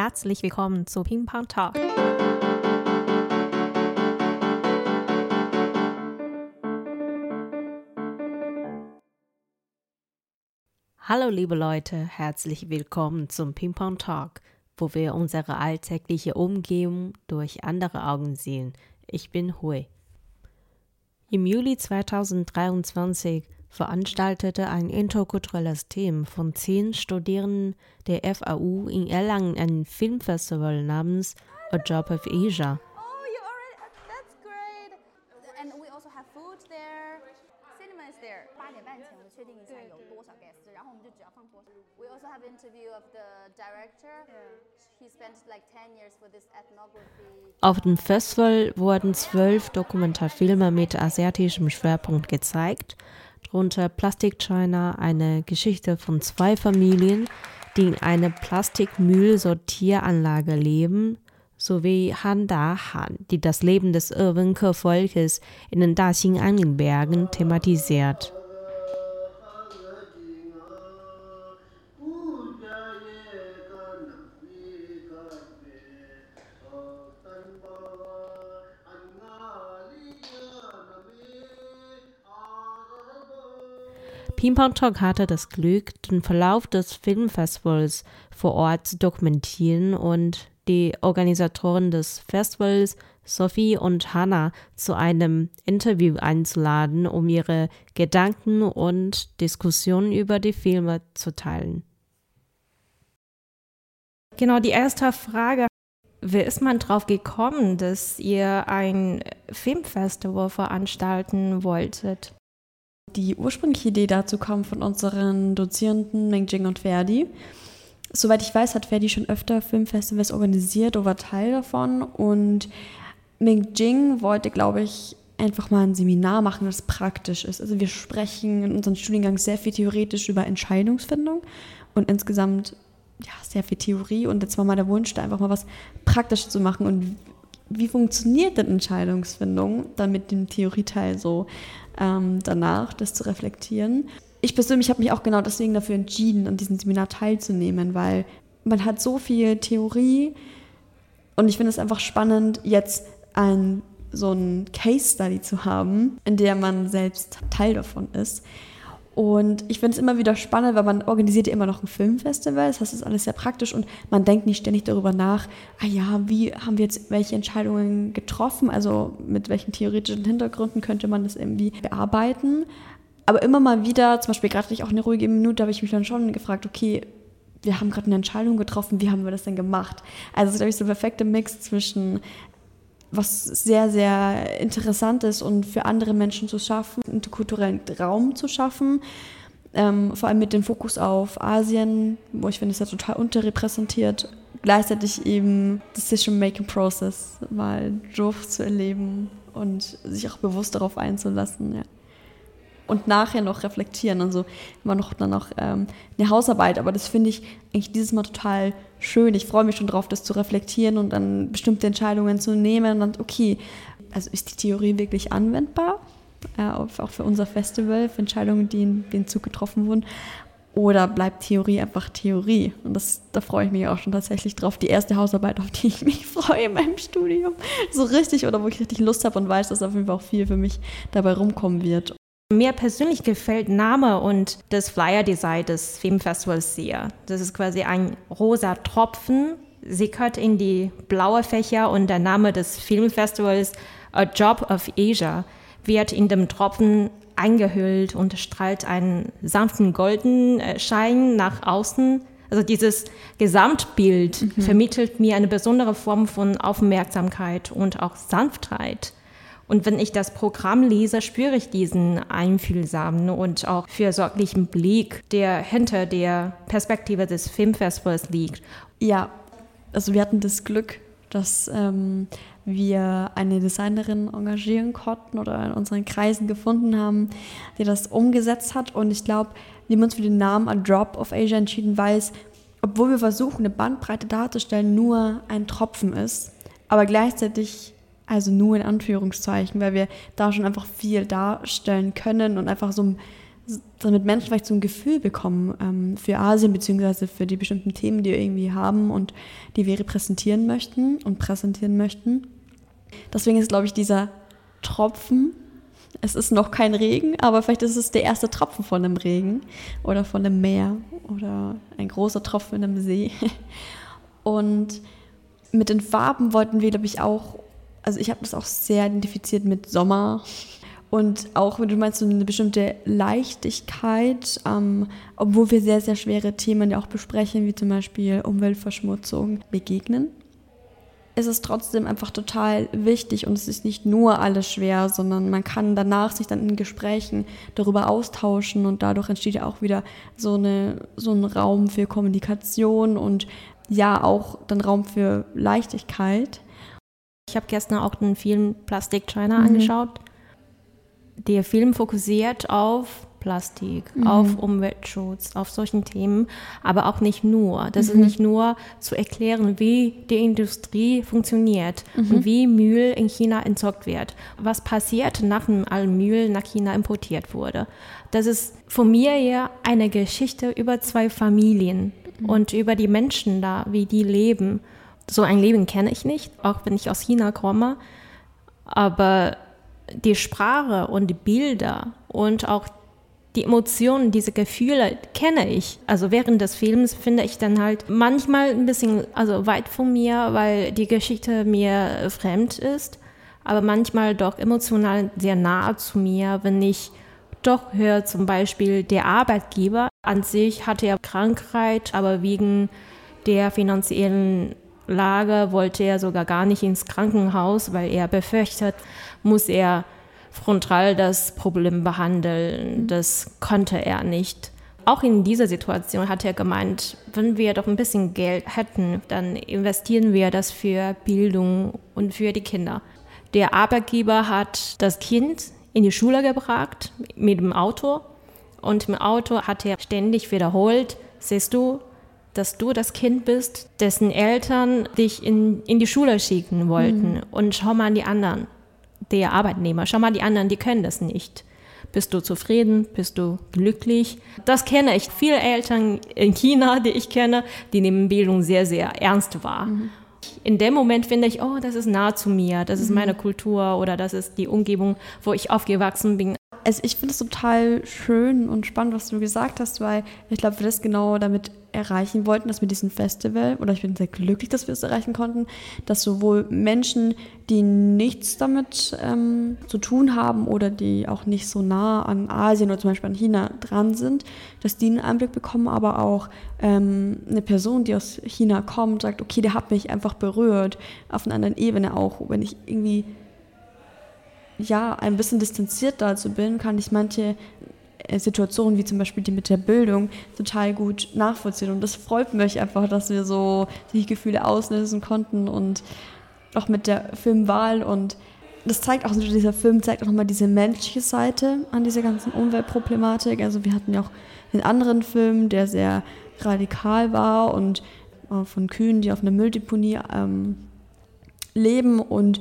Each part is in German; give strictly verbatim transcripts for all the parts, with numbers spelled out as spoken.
Herzlich willkommen zu Ping Pong Talk. Hallo liebe Leute, herzlich willkommen zum Ping Pong Talk, wo wir unsere alltägliche Umgebung durch andere Augen sehen. Ich bin Hui. Im Juli zweitausenddreiundzwanzig veranstaltete ein interkulturelles Team von zehn Studierenden der F A U in Erlangen ein Filmfestival namens A Drop of Asia. Oh, you already, that's great. And we also have food there. Cinema is there. 八点半前我们确定一下有多少 guests， 然后我们就只要放多少。We also have interview of the director. He spent like ten years for this ethnography. Auf dem Festival wurden zwölf Dokumentarfilme mit asiatischem Schwerpunkt gezeigt, darunter Plastic China, eine Geschichte von zwei Familien, die in einer Plastikmüllsortieranlage leben, sowie Han Da Han, die das Leben des Irwenke-Volkes in den Daxing-Anling-Bergen thematisiert. Ping Pong Talk hatte das Glück, den Verlauf des Filmfestivals vor Ort zu dokumentieren und die Organisatoren des Festivals, Sophie und Hannah, zu einem Interview einzuladen, um ihre Gedanken und Diskussionen über die Filme zu teilen. Genau, die erste Frage: Wie ist man drauf gekommen, dass ihr ein Filmfestival veranstalten wolltet? Die ursprüngliche Idee dazu kam von unseren Dozierenden Mingjing und Ferdi. Soweit ich weiß, hat Ferdi schon öfter Filmfestivals organisiert oder war Teil davon. Und Mingjing wollte, glaube ich, einfach mal ein Seminar machen, das praktisch ist. Also wir sprechen in unserem Studiengang sehr viel theoretisch über Entscheidungsfindung und insgesamt ja, sehr viel Theorie. Und jetzt war mal der Wunsch, da einfach mal was praktisch zu machen. Und wie funktioniert denn Entscheidungsfindung, dann mit dem Theorieteil so ähm, danach, das zu reflektieren. Ich persönlich habe mich auch genau deswegen dafür entschieden, an diesem Seminar teilzunehmen, weil man hat so viel Theorie und ich finde es einfach spannend, jetzt ein, so ein Case Study zu haben, in der man selbst Teil davon ist. Und ich finde es immer wieder spannend, weil man organisiert ja immer noch ein Filmfestival, das heißt, es ist alles sehr praktisch und man denkt nicht ständig darüber nach, ah ja, wie haben wir jetzt welche Entscheidungen getroffen, also mit welchen theoretischen Hintergründen könnte man das irgendwie bearbeiten. Aber immer mal wieder, zum Beispiel gerade auch eine ruhige Minute, habe ich mich dann schon gefragt, okay, wir haben gerade eine Entscheidung getroffen, wie haben wir das denn gemacht? Also es ist, glaube ich, so der perfekte Mix zwischen was sehr, sehr interessant ist und für andere Menschen zu schaffen, einen kulturellen Raum zu schaffen, ähm, vor allem mit dem Fokus auf Asien, wo ich finde, es ja total unterrepräsentiert, gleichzeitig eben Decision-Making-Process mal durchzuerleben und sich auch bewusst darauf einzulassen, ja. Und nachher noch reflektieren, also immer noch dann noch ähm, eine Hausarbeit, aber das finde ich eigentlich dieses Mal total schön. Ich freue mich schon drauf, das zu reflektieren und dann bestimmte Entscheidungen zu nehmen und dann, okay, also ist die Theorie wirklich anwendbar, äh, auch für unser Festival, für Entscheidungen, die in den Zug getroffen wurden, oder bleibt Theorie einfach Theorie? Und das, da freue ich mich auch schon tatsächlich drauf. Die erste Hausarbeit, auf die ich mich freue in meinem Studium, so richtig, oder wo ich richtig Lust habe und weiß, dass auf jeden Fall auch viel für mich dabei rumkommen wird. Mir persönlich gefällt Name und das Flyer-Design des Filmfestivals sehr. Das ist quasi ein rosa Tropfen, sickert in die blaue Fächer und der Name des Filmfestivals, A Drop of Asia, wird in dem Tropfen eingehüllt und strahlt einen sanften goldenen Schein nach außen. Also dieses Gesamtbild mhm. vermittelt mir eine besondere Form von Aufmerksamkeit und auch Sanftheit. Und wenn ich das Programm lese, spüre ich diesen einfühlsamen und auch fürsorglichen Blick, der hinter der Perspektive des Filmfestivals liegt. Ja, also wir hatten das Glück, dass ähm, wir eine Designerin engagieren konnten oder in unseren Kreisen gefunden haben, die das umgesetzt hat. Und ich glaube, wir haben uns für den Namen A Drop of Asia entschieden, weil es, obwohl wir versuchen, eine Bandbreite darzustellen, nur ein Tropfen ist, aber gleichzeitig also nur in Anführungszeichen, weil wir da schon einfach viel darstellen können und einfach so, damit Menschen vielleicht so ein Gefühl bekommen ähm, für Asien beziehungsweise für die bestimmten Themen, die wir irgendwie haben und die wir repräsentieren möchten und präsentieren möchten. Deswegen ist, glaube ich, dieser Tropfen, es ist noch kein Regen, aber vielleicht ist es der erste Tropfen von einem Regen oder von einem Meer oder ein großer Tropfen in einem See. Und mit den Farben wollten wir, glaube ich, auch, also ich habe das auch sehr identifiziert mit Sommer und auch, wenn du meinst, so eine bestimmte Leichtigkeit, ähm, obwohl wir sehr, sehr schwere Themen ja auch besprechen, wie zum Beispiel Umweltverschmutzung, begegnen. Es ist trotzdem einfach total wichtig und es ist nicht nur alles schwer, sondern man kann danach sich dann in Gesprächen darüber austauschen und dadurch entsteht ja auch wieder so, eine, so ein Raum für Kommunikation und ja auch dann Raum für Leichtigkeit. Ich habe gestern auch den Film Plastic China Mhm. angeschaut. Der Film fokussiert auf Plastik, Mhm. auf Umweltschutz, auf solchen Themen, aber auch nicht nur. Das Mhm. ist nicht nur zu erklären, wie die Industrie funktioniert Mhm. und wie Müll in China entsorgt wird. Was passiert, nachdem all Müll nach China importiert wurde. Das ist von mir her eine Geschichte über zwei Familien mhm. und über die Menschen da, wie die leben. So ein Leben kenne ich nicht, auch wenn ich aus China komme, aber die Sprache und die Bilder und auch die Emotionen, diese Gefühle kenne ich. Also während des Films finde ich dann halt manchmal ein bisschen also weit von mir, weil die Geschichte mir fremd ist, aber manchmal doch emotional sehr nahe zu mir, wenn ich doch höre, zum Beispiel der Arbeitgeber an sich hatte ja Krankheit, aber wegen der finanziellen Lage wollte er sogar gar nicht ins Krankenhaus, weil er befürchtet, muss er frontal das Problem behandeln. Das konnte er nicht. Auch in dieser Situation hat er gemeint, wenn wir doch ein bisschen Geld hätten, dann investieren wir das für Bildung und für die Kinder. Der Arbeitgeber hat das Kind in die Schule gebracht mit dem Auto und im Auto hat er ständig wiederholt, siehst du, dass du das Kind bist, dessen Eltern dich in, in die Schule schicken wollten mhm. und schau mal an die anderen. Der Arbeitnehmer, schau mal, die anderen, die können das nicht. Bist du zufrieden? Bist du glücklich? Das kenne ich. Viele Eltern in China, die ich kenne, die nehmen Bildung sehr, sehr ernst wahr. Mhm. In dem Moment finde ich, oh, das ist nah zu mir, das ist meine Kultur oder das ist die Umgebung, wo ich aufgewachsen bin. Also ich finde es total schön und spannend, was du gesagt hast, weil ich glaube, wir das genau damit erreichen wollten, dass wir diesen Festival, oder ich bin sehr glücklich, dass wir es erreichen konnten, dass sowohl Menschen, die nichts damit ähm, zu tun haben oder die auch nicht so nah an Asien oder zum Beispiel an China dran sind, dass die einen Einblick bekommen, aber auch ähm, eine Person, die aus China kommt, sagt, okay, der hat mich einfach berührt, auf einer anderen Ebene auch, wenn ich irgendwie ja, ein bisschen distanziert dazu bin, kann ich manche Situationen, wie zum Beispiel die mit der Bildung, total gut nachvollziehen. Und das freut mich einfach, dass wir so die Gefühle auslösen konnten und auch mit der Filmwahl. Und das zeigt auch, dieser Film zeigt auch nochmal diese menschliche Seite an dieser ganzen Umweltproblematik. Also wir hatten ja auch einen anderen Film, der sehr radikal war und von Kühen, die auf einer Mülldeponie ähm, leben und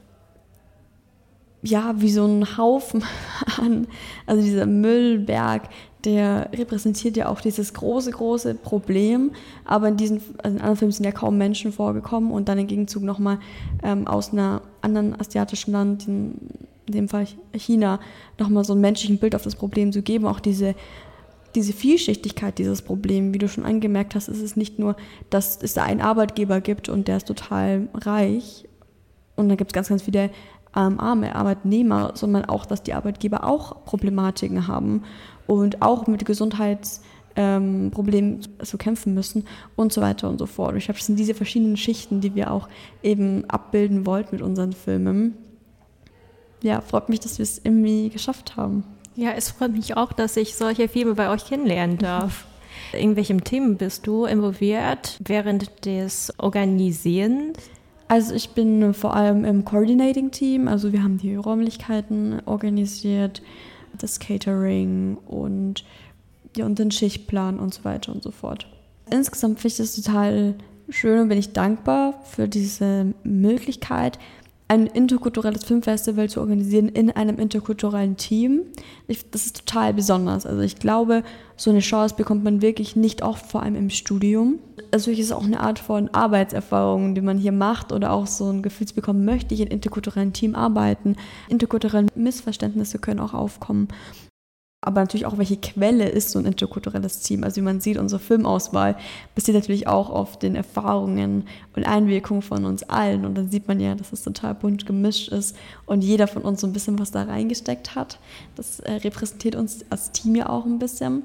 ja, wie so ein Haufen an, also dieser Müllberg, der repräsentiert ja auch dieses große, große Problem, aber in diesen also in anderen Filmen sind ja kaum Menschen vorgekommen und dann im Gegenzug nochmal ähm, aus einer anderen asiatischen Land, in, in dem Fall China, nochmal so ein menschlichen Bild auf das Problem zu geben, auch diese diese Vielschichtigkeit dieses Problems, wie du schon angemerkt hast, ist es nicht nur, dass es da einen Arbeitgeber gibt und der ist total reich und da gibt es ganz, ganz viele Ähm, arme Arbeitnehmer, sondern auch, dass die Arbeitgeber auch Problematiken haben und auch mit Gesundheitsproblemen ähm, zu kämpfen müssen und so weiter und so fort. Und ich glaube, das sind diese verschiedenen Schichten, die wir auch eben abbilden wollten mit unseren Filmen. Ja, freut mich, dass wir es irgendwie geschafft haben. Ja, es freut mich auch, dass ich solche Filme bei euch kennenlernen darf. In welchem Team bist du involviert während des Organisierens? Also ich bin vor allem im Coordinating-Team, also wir haben die Räumlichkeiten organisiert, das Catering und, ja, und den Schichtplan und so weiter und so fort. Insgesamt finde ich das total schön und bin ich dankbar für diese Möglichkeit, ein interkulturelles Filmfestival zu organisieren in einem interkulturellen Team. Ich, das ist total besonders. Also ich glaube, so eine Chance bekommt man wirklich nicht oft, vor allem im Studium. Also es ist auch eine Art von Arbeitserfahrung, die man hier macht oder auch so ein Gefühl zu bekommen, möchte ich in interkulturellen Team arbeiten. Interkulturelle Missverständnisse können auch aufkommen. Aber natürlich auch, welche Quelle ist so ein interkulturelles Team. Also wie man sieht, unsere Filmauswahl basiert natürlich auch auf den Erfahrungen und Einwirkungen von uns allen. Und dann sieht man ja, dass es total bunt gemischt ist und jeder von uns so ein bisschen was da reingesteckt hat. Das äh, repräsentiert uns als Team ja auch ein bisschen.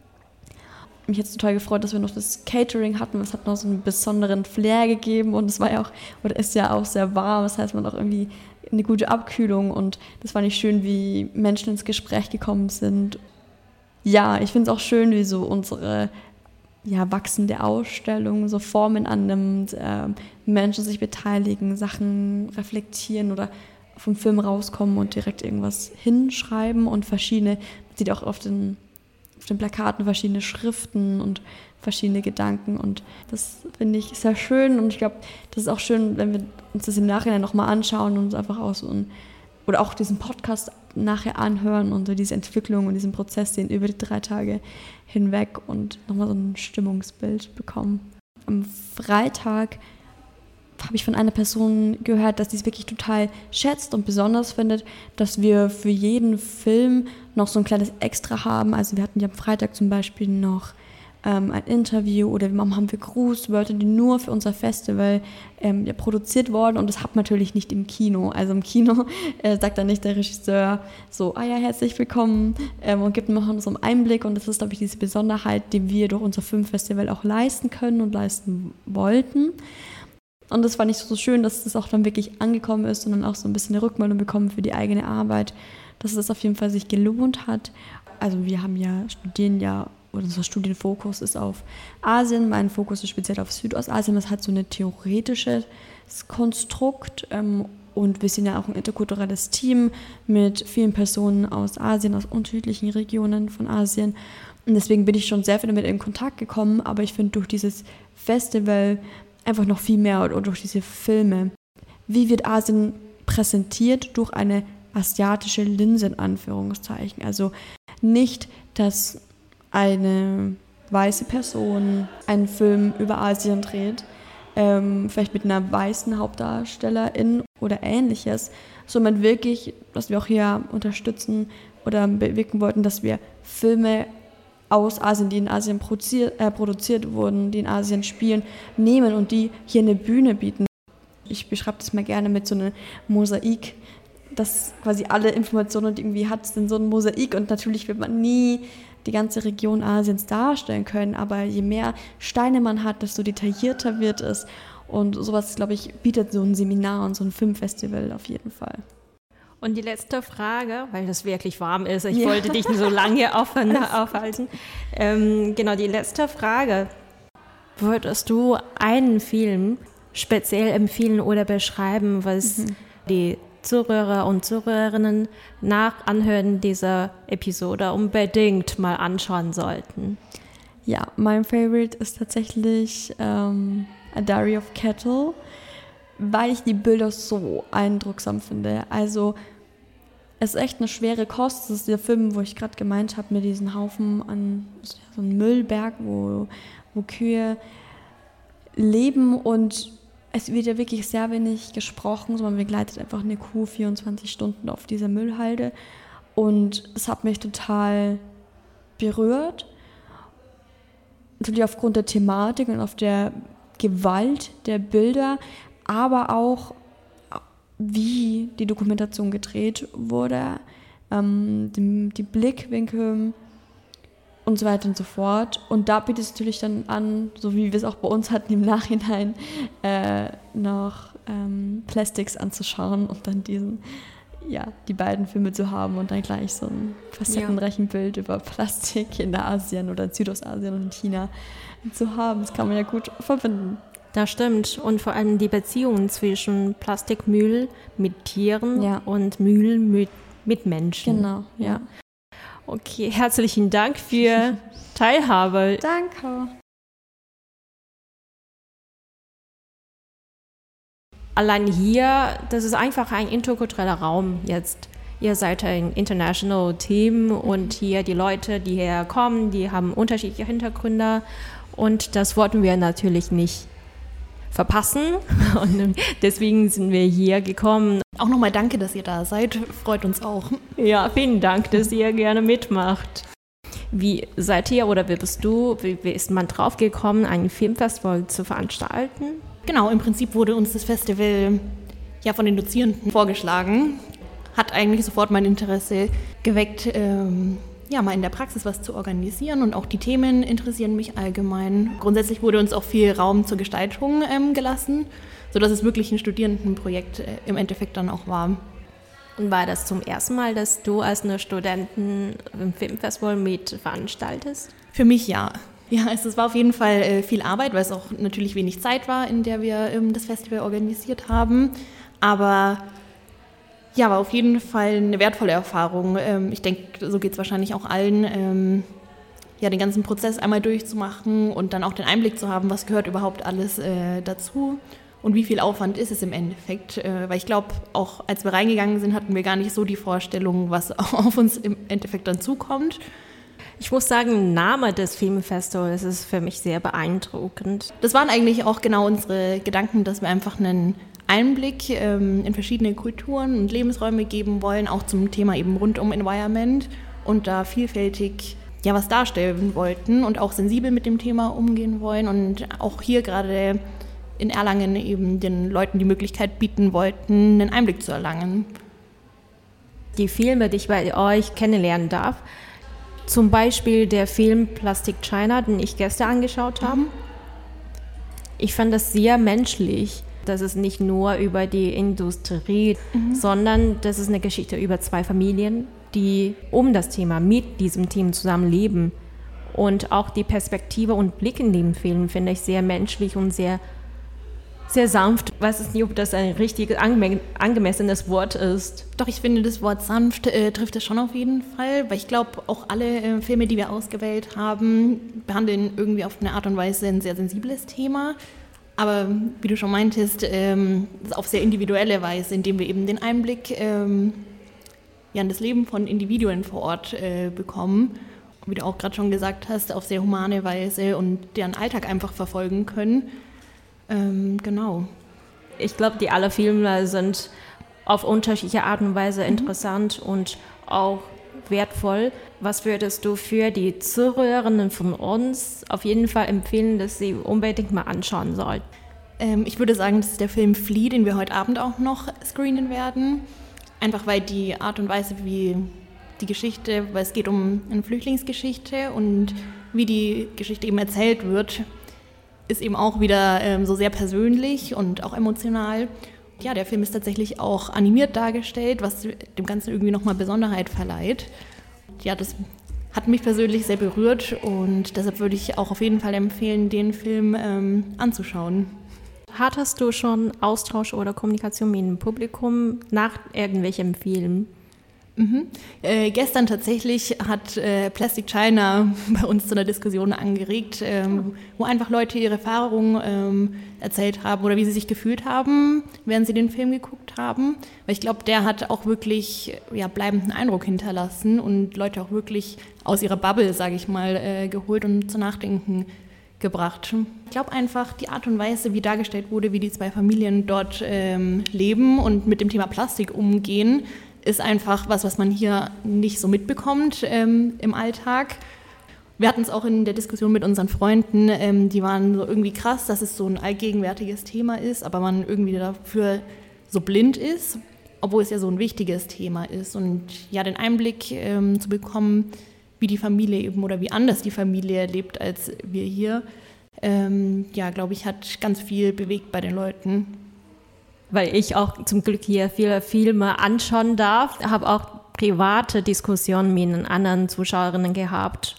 Mich hat es total gefreut, dass wir noch das Catering hatten. Es hat noch so einen besonderen Flair gegeben und es war ja auch, oder ist ja auch sehr warm. Das heißt, man hat auch irgendwie eine gute Abkühlung und das fand ich schön, wie Menschen ins Gespräch gekommen sind. Ja, ich finde es auch schön, wie so unsere ja, wachsende Ausstellung so Formen annimmt, äh, Menschen sich beteiligen, Sachen reflektieren oder vom Film rauskommen und direkt irgendwas hinschreiben und verschiedene, man sieht auch auf den, auf den Plakaten verschiedene Schriften und verschiedene Gedanken und das finde ich sehr schön und ich glaube, das ist auch schön, wenn wir uns das im Nachhinein nochmal anschauen und uns einfach auch so ein, oder auch diesen Podcast nachher anhören und so diese Entwicklung und diesen Prozess sehen über die drei Tage hinweg und nochmal so ein Stimmungsbild bekommen. Am Freitag habe ich von einer Person gehört, dass sie es wirklich total schätzt und besonders findet, dass wir für jeden Film noch so ein kleines Extra haben. Also wir hatten ja am Freitag zum Beispiel noch ähm, ein Interview oder haben wir Grußwörter, die nur für unser Festival ähm, ja, produziert wurden und das hat man natürlich nicht im Kino. Also im Kino äh, sagt dann nicht der Regisseur so, ah ja, herzlich willkommen ähm, und gibt noch so einen Einblick und das ist, glaube ich, diese Besonderheit, die wir durch unser Filmfestival auch leisten können und leisten wollten. Und das fand ich so schön, dass das auch dann wirklich angekommen ist und dann auch so ein bisschen eine Rückmeldung bekommen für die eigene Arbeit, dass es auf jeden Fall sich gelohnt hat. Also wir haben ja, studieren ja, oder unser Studienfokus ist auf Asien, mein Fokus ist speziell auf Südostasien, das hat so ein theoretisches Konstrukt ähm, und wir sind ja auch ein interkulturelles Team mit vielen Personen aus Asien, aus unterschiedlichen Regionen von Asien und deswegen bin ich schon sehr viel damit in Kontakt gekommen, aber ich finde durch dieses Festival einfach noch viel mehr oder durch diese Filme. Wie wird Asien präsentiert durch eine asiatische Linse in Anführungszeichen? Also nicht, dass eine weiße Person einen Film über Asien dreht, ähm, vielleicht mit einer weißen Hauptdarstellerin oder ähnliches, sondern wirklich, dass wir auch hier unterstützen oder bewirken wollten, dass wir Filme aus Asien, die in Asien produziert, äh, produziert wurden, die in Asien spielen, nehmen und die hier eine Bühne bieten. Ich beschreibe das mal gerne mit so einem Mosaik, dass quasi alle Informationen, die irgendwie hat, sind so ein Mosaik und natürlich wird man nie die ganze Region Asiens darstellen können, aber je mehr Steine man hat, desto detaillierter wird es und sowas, glaube ich, bietet so ein Seminar und so ein Filmfestival auf jeden Fall. Und die letzte Frage, weil das wirklich warm ist, ich ja. wollte dich nicht so lange auf, aufhalten. Ähm, genau, die letzte Frage. Würdest du einen Film speziell empfehlen oder beschreiben, was mhm. die Zuhörer und Zuhörerinnen nach Anhören dieser Episode unbedingt mal anschauen sollten? Ja, mein Favorite ist tatsächlich ähm, A Diary of Kettle, weil ich die Bilder so eindrucksam finde. Also es ist echt eine schwere Kost. Das ist der Film, wo ich gerade gemeint habe, mit diesem Haufen an so einem Müllberg, wo, wo Kühe leben und es wird ja wirklich sehr wenig gesprochen, sondern man begleitet einfach eine Kuh vierundzwanzig Stunden auf dieser Müllhalde und es hat mich total berührt. Natürlich aufgrund der Thematik und auf der Gewalt der Bilder, aber auch wie die Dokumentation gedreht wurde, ähm, die, die Blickwinkel und so weiter und so fort. Und da bietet es natürlich dann an, so wie wir es auch bei uns hatten im Nachhinein, äh, noch ähm, Plastics anzuschauen und dann diesen, ja, die beiden Filme zu haben und dann gleich so ein facettenreichen Bild über Plastik in der Asien oder in Südostasien und in China zu haben. Das kann man ja gut verbinden. Das stimmt. Und vor allem die Beziehung zwischen Plastikmüll mit Tieren ja. und Müll mit, mit Menschen. Genau, ja. Okay, herzlichen Dank für Teilhabe. Danke. allein hier, das ist einfach ein interkultureller Raum jetzt. Ihr seid ein international Team und hier die Leute, die herkommen, die haben unterschiedliche Hintergründe und das wollten wir natürlich nicht verpassen und deswegen sind wir hier gekommen. Auch nochmal danke, dass ihr da seid, freut uns auch. Ja, vielen Dank, dass ihr gerne mitmacht. Wie seid ihr oder wie bist du, wie, wie ist man drauf gekommen, ein Filmfestival zu veranstalten? Genau, im Prinzip wurde uns das Festival ja von den Dozierenden vorgeschlagen. Hat eigentlich sofort mein Interesse geweckt, ähm, ja, mal in der Praxis was zu organisieren und auch die Themen interessieren mich allgemein. Grundsätzlich wurde uns auch viel Raum zur Gestaltung ähm, gelassen, sodass es wirklich ein Studierendenprojekt äh, im Endeffekt dann auch war. Und war das zum ersten Mal, dass du als eine Studentin im Filmfestival mit veranstaltest? Für mich ja. Ja, es war auf jeden Fall äh, viel Arbeit, weil es auch natürlich wenig Zeit war, in der wir ähm, das Festival organisiert haben. Aber ja, war auf jeden Fall eine wertvolle Erfahrung. Ähm, ich denke, so geht es wahrscheinlich auch allen, ähm, ja, den ganzen Prozess einmal durchzumachen und dann auch den Einblick zu haben, was gehört überhaupt alles äh, dazu und wie viel Aufwand ist es im Endeffekt. Äh, weil ich glaube, auch als wir reingegangen sind, hatten wir gar nicht so die Vorstellung, was auf uns im Endeffekt dann zukommt. Ich muss sagen, der Name des Filmfestivals ist für mich sehr beeindruckend. Das waren eigentlich auch genau unsere Gedanken, dass wir einfach einen Einblick ähm, in verschiedene Kulturen und Lebensräume geben wollen, auch zum Thema eben rund um Environment und da vielfältig ja was darstellen wollten und auch sensibel mit dem Thema umgehen wollen und auch hier gerade in Erlangen eben den Leuten die Möglichkeit bieten wollten, einen Einblick zu erlangen. Die Filme, die ich bei euch kennenlernen darf, zum Beispiel der Film Plastic China, den ich gestern angeschaut habe. Mhm. Ich fand das sehr menschlich. Das ist nicht nur über die Industrie, mhm. sondern das ist eine Geschichte über zwei Familien, die um das Thema, mit diesem Team zusammenleben. Und auch die Perspektive und Blick in dem Film finde ich sehr menschlich und sehr, sehr sanft. Ich weiß nicht, ob das ein richtig angeme- angemessenes Wort ist. Doch, ich finde, das Wort sanft äh, trifft es schon auf jeden Fall, weil ich glaube, auch alle äh, Filme, die wir ausgewählt haben, behandeln irgendwie auf eine Art und Weise ein sehr sensibles Thema. Aber wie du schon meintest, ähm, auf sehr individuelle Weise, indem wir eben den Einblick ähm, ja, in das Leben von Individuen vor Ort äh, bekommen. Und wie du auch gerade schon gesagt hast, auf sehr humane Weise und deren Alltag einfach verfolgen können. Ähm, genau. Ich glaube, die alle Filme sind auf unterschiedliche Art und Weise mhm. interessant und auch wertvoll. Was würdest du für die Zuhörerinnen von uns auf jeden Fall empfehlen, dass sie unbedingt mal anschauen sollten? Ähm, ich würde sagen, das ist der Film Flea, den wir heute Abend auch noch screenen werden. Einfach weil die Art und Weise, wie die Geschichte, weil es geht um eine Flüchtlingsgeschichte und wie die Geschichte eben erzählt wird, ist eben auch wieder ähm, so sehr persönlich und auch emotional. Ja, der Film ist tatsächlich auch animiert dargestellt, was dem Ganzen irgendwie nochmal Besonderheit verleiht. Ja, das hat mich persönlich sehr berührt und deshalb würde ich auch auf jeden Fall empfehlen, den Film ähm, anzuschauen. Hattest du schon Austausch oder Kommunikation mit dem Publikum nach irgendwelchem Film? Mhm. Äh, gestern tatsächlich hat äh, Plastic China bei uns zu einer Diskussion angeregt, ähm, wo einfach Leute ihre Erfahrungen ähm, erzählt haben oder wie sie sich gefühlt haben, während sie den Film geguckt haben. Weil ich glaube, der hat auch wirklich ja, bleibenden Eindruck hinterlassen und Leute auch wirklich aus ihrer Bubble, sage ich mal, äh, geholt und zu Nachdenken gebracht. Ich glaube einfach, die Art und Weise, wie dargestellt wurde, wie die zwei Familien dort ähm, leben und mit dem Thema Plastik umgehen, ist einfach was, was man hier nicht so mitbekommt ähm, im Alltag. Wir hatten es auch in der Diskussion mit unseren Freunden, ähm, die waren so irgendwie krass, dass es so ein allgegenwärtiges Thema ist, aber man irgendwie dafür so blind ist, obwohl es ja so ein wichtiges Thema ist. Und ja, den Einblick ähm, zu bekommen, wie die Familie eben oder wie anders die Familie lebt als wir hier, ähm, ja, glaube ich, hat ganz viel bewegt bei den Leuten. Weil ich auch zum Glück hier viele Filme anschauen darf, habe auch private Diskussionen mit den anderen Zuschauerinnen gehabt.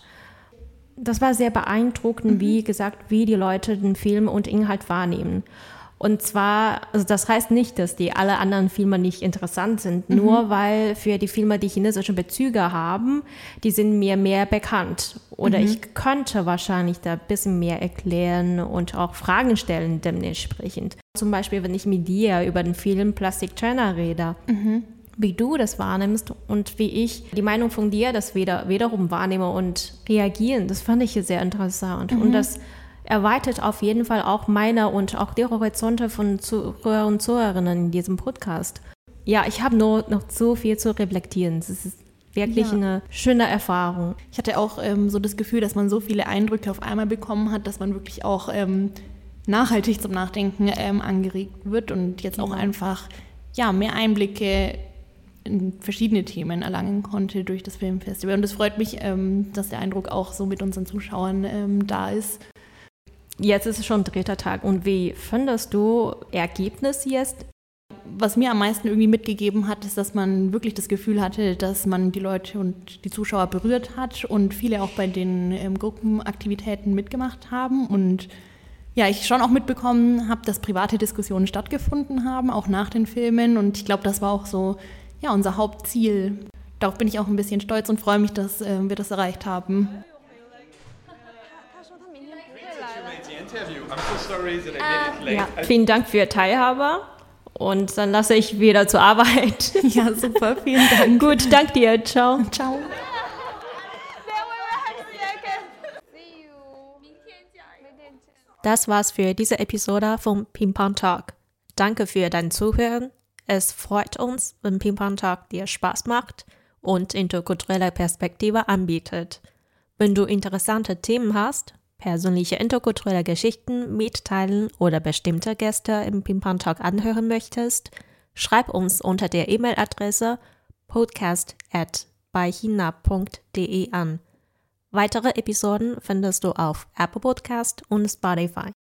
Das war sehr beeindruckend, mhm. wie gesagt, wie die Leute den Film und Inhalt wahrnehmen. Und zwar, also das heißt nicht, dass die alle anderen Filme nicht interessant sind, mhm. nur weil für die Filme, die chinesische Bezüge haben, die sind mir mehr bekannt. Oder mhm. ich könnte wahrscheinlich da ein bisschen mehr erklären und auch Fragen stellen dementsprechend. Zum Beispiel, wenn ich mit dir über den Film Plastic China rede, mhm. wie du das wahrnimmst und wie ich die Meinung von dir das wieder, wiederum wahrnehme und reagieren, das fand ich sehr interessant. Mhm. Und das erweitert auf jeden Fall auch meine und auch die Horizonte von Zuhörer und Zuhörerinnen in diesem Podcast. Ja, ich habe nur noch so viel zu reflektieren. Das ist wirklich ja. eine schöne Erfahrung. Ich hatte auch ähm, so das Gefühl, dass man so viele Eindrücke auf einmal bekommen hat, dass man wirklich auch ähm, nachhaltig zum Nachdenken ähm, angeregt wird und jetzt auch ja. einfach ja, mehr Einblicke in verschiedene Themen erlangen konnte durch das Filmfestival. Und es freut mich, ähm, dass der Eindruck auch so mit unseren Zuschauern ähm, da ist. Jetzt ist es schon dritter Tag. Und wie findest du Ergebnis jetzt? Was mir am meisten irgendwie mitgegeben hat, ist, dass man wirklich das Gefühl hatte, dass man die Leute und die Zuschauer berührt hat und viele auch bei den ähm, Gruppenaktivitäten mitgemacht haben. Und ja, ich schon auch mitbekommen habe, dass private Diskussionen stattgefunden haben, auch nach den Filmen. Und ich glaube, das war auch so ja, unser Hauptziel. Darauf bin ich auch ein bisschen stolz und freue mich, dass äh, wir das erreicht haben. Ja, vielen Dank für Ihre Teilhabe und dann lasse ich wieder zur Arbeit. Ja, super, vielen Dank. Gut, danke dir, ciao. Ciao. Das war's für diese Episode vom Ping Pong Talk. Danke für dein Zuhören. Es freut uns, wenn Ping Pong Talk dir Spaß macht und interkulturelle Perspektive anbietet. Wenn du interessante Themen hast, persönliche interkulturelle Geschichten mitteilen oder bestimmte Gäste im Ping Pong Talk anhören möchtest, schreib uns unter der E-Mail-Adresse podcast at beihina punkt de an. Weitere Episoden findest du auf Apple Podcast und Spotify.